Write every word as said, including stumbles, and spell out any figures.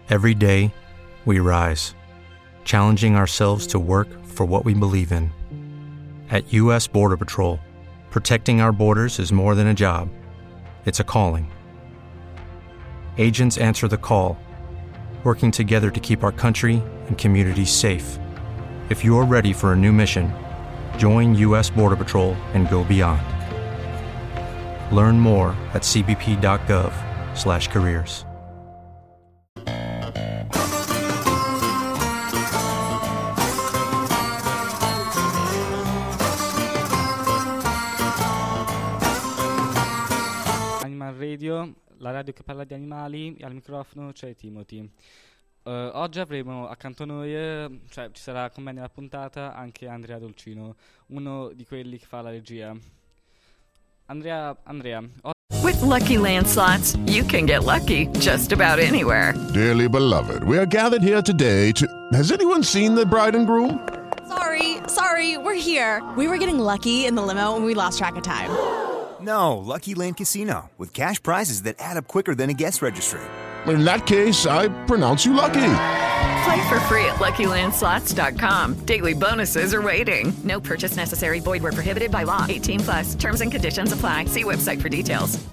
Every day, we rise, challenging ourselves to work for what we believe in. At U S Border Patrol, protecting our borders is more than a job. It's a calling. Agents answer the call, working together to keep our country and communities safe. If you're ready for a new mission, join U S Border Patrol and go beyond. Learn more at c b p dot gov slash careers. Animal Radio, la radio che parla di animali, al microfono c'è Timothy. Uh, oggi avremo accanto a noi, eh, cioè ci sarà con me nella puntata anche Andrea Dolcino, uno di quelli che fa la regia. Andrea, Andrea. O- With Lucky Land Slots, you can get lucky just about anywhere. Dearly beloved, we are gathered here today to... Has anyone seen the bride and groom? Sorry, sorry, we're here. We were getting lucky in the limo and we lost track of time. No, Lucky Land Casino, with cash prizes that add up quicker than a guest registry. In that case, I pronounce you lucky. Play for free at lucky land slots dot com. Daily bonuses are waiting. No purchase necessary. Void where prohibited by law. eighteen plus. Terms and conditions apply. See website for details.